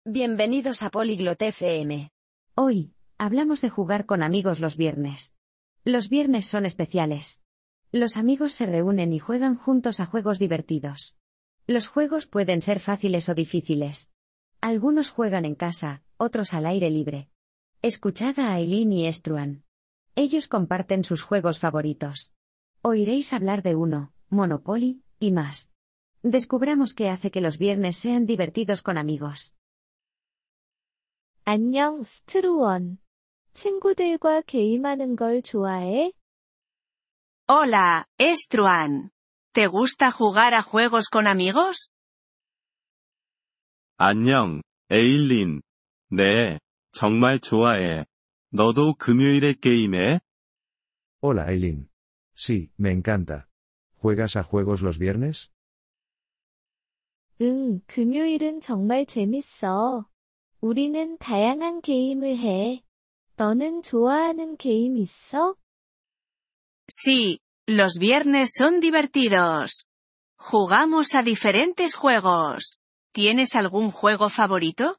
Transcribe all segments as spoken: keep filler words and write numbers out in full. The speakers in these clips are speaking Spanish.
Bienvenidos a Polyglot F M. Hoy, hablamos de jugar con amigos los viernes. Los viernes son especiales. Los amigos se reúnen y juegan juntos a juegos divertidos. Los juegos pueden ser fáciles o difíciles. Algunos juegan en casa, otros al aire libre. Escuchad a Aileen y Struan. Ellos comparten sus juegos favoritos. Oiréis hablar de Uno, Monopoly, y más. Descubramos qué hace que los viernes sean divertidos con amigos. 안녕, 스트루원. 친구들과 게임하는 걸 좋아해? Hola, Struan. ¿Te gusta jugar a juegos con amigos? 안녕, 에일린. 네, 정말 좋아해. 너도 금요일에 게임해? Hola Aileen. Sí, me encanta. ¿Juegas a juegos los viernes? 응, 금요일은 정말 재밌어. 우리는 다양한 게임을 해. 너는 좋아하는 게임 있어? Sí, los viernes son divertidos. Jugamos a diferentes juegos. ¿Tienes algún juego favorito?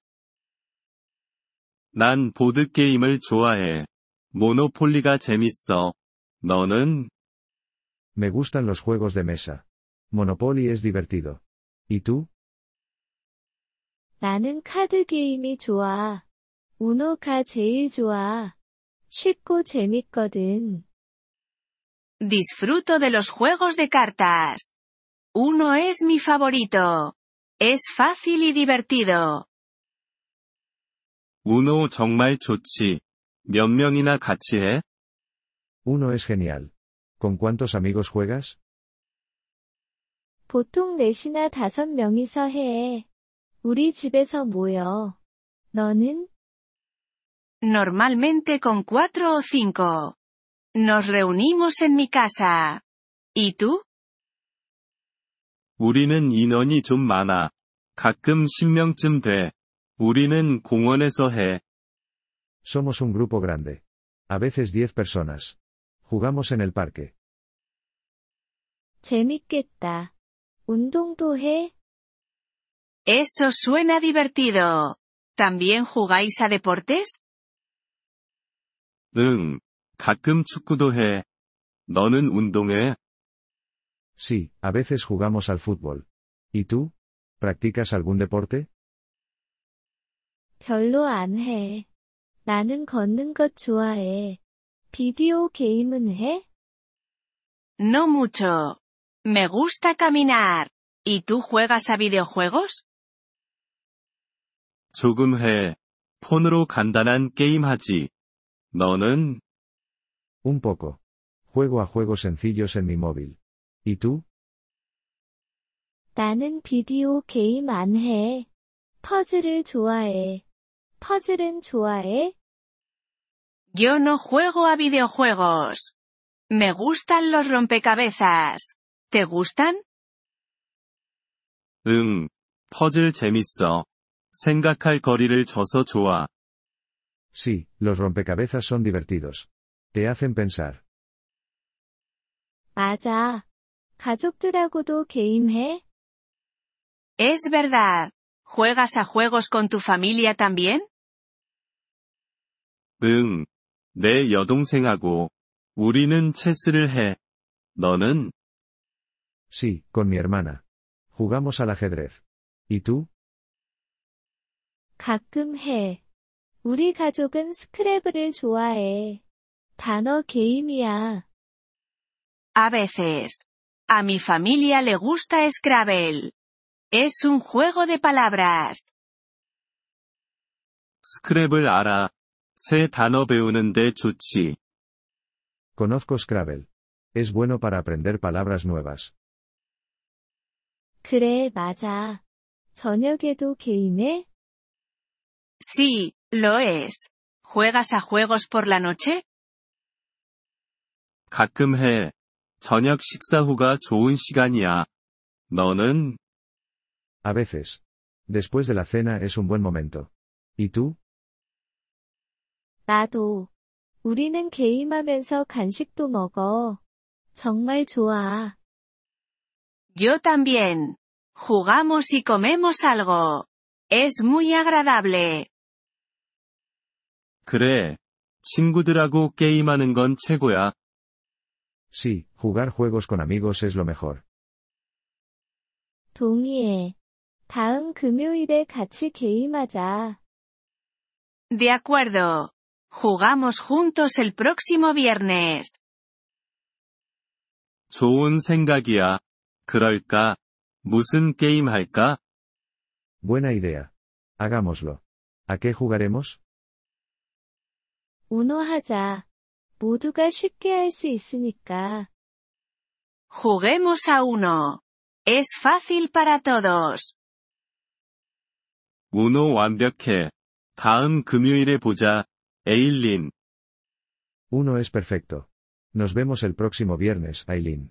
난 보드게임을 좋아해. 모노폴리가 재밌어. 너는? Me gustan los juegos de mesa. Monopoly es divertido. ¿Y tú? 나는 카드 게임이 좋아. 우노가 제일 좋아. 쉽고 재밌거든. Disfruto de los juegos de cartas. Uno es mi favorito. Es fácil y divertido. 우노 정말 좋지. 몇 명이나 같이 해? Uno es genial. ¿Con cuántos amigos juegas? 보통 넷이나 다섯 명이서 해. 우리 집에서 모여. 너는? Normalmente con cuatro o cinco. Nos reunimos en mi casa. ¿Y tú? 우리는 인원이 좀 많아. 가끔 십 명쯤 돼. 우리는 공원에서 해. Somos un grupo grande. A veces diez personas. Jugamos en el parque. 재밌겠다. 운동도 해? Eso suena divertido. ¿También jugáis a deportes? 응, 가끔 축구도 해. 너는 운동해? Sí, a veces jugamos al fútbol. ¿Y tú? ¿Practicas algún deporte? 별로 안 해. 나는 걷는 것 좋아해. 비디오 게임은 해? No mucho. Me gusta caminar. ¿Y tú juegas a videojuegos? 조금 해. 폰으로 간단한 게임 하지. 너는? Un poco. Juego a juegos sencillos en mi móvil. ¿Y tú? 나는 비디오 게임 안 해. 퍼즐을 좋아해. 퍼즐은 좋아해? Yo no juego a videojuegos. Me gustan los rompecabezas. ¿Te gustan? 응, 퍼즐 재밌어. 생각할 거리를 줘서 좋아. Sí, los rompecabezas son divertidos. Te hacen pensar. 맞아. 가족들하고도 게임해? Es verdad. ¿Juegas a juegos con tu familia también? 응, 내 여동생하고. 우리는 체스를 해. 너는? Sí, con mi hermana. Jugamos al ajedrez. ¿Y tú? 가끔 해. 우리 가족은 스크래블을 좋아해. 단어 게임이야. A veces. A mi familia le gusta Scrabble. Es un juego de palabras. 스크랩을 알아. 새 단어 배우는데 좋지. Conozco Scrabble. Es bueno para aprender palabras nuevas. 그래, 맞아. 저녁에도 게임해? Sí, lo es. ¿Juegas a juegos por la noche? 가끔 해. 저녁 식사 후가 좋은 시간이야. 너는? A veces. Después de la cena es un buen momento. ¿Y tú? 나도. 우리는 게임하면서 간식도 먹어. 정말 좋아. Yo también. Jugamos y comemos algo. Es muy agradable. 그래. 친구들하고 게임하는 건 최고야. Sí, jugar juegos con amigos es lo mejor. 동의해. 다음 금요일에 같이 게임하자. De acuerdo. Jugamos juntos el próximo viernes. 좋은 생각이야. 그럴까? 무슨 게임 할까? Buena idea. Hagámoslo. ¿A qué jugaremos? 우노 하자. 모두가 쉽게 할 수 있으니까. Juguemos a uno. Es fácil para todos. 우노 완벽해. 다음 금요일에 보자. 에일린. Uno es perfecto. Nos vemos el próximo viernes, Aileen.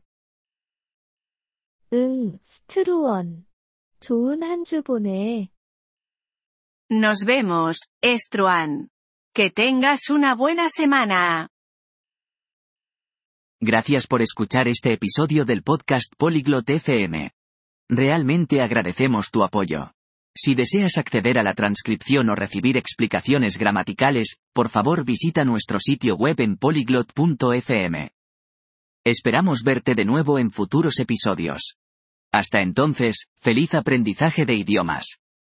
응, 스트루원. 좋은 한 주 보내. Nos vemos, Struan. Que tengas una buena semana. Gracias por escuchar este episodio del podcast Polyglot F M. Realmente agradecemos tu apoyo. Si deseas acceder a la transcripción o recibir explicaciones gramaticales, por favor visita nuestro sitio web en polyglot punto f m. Esperamos verte de nuevo en futuros episodios. Hasta entonces, feliz aprendizaje de idiomas.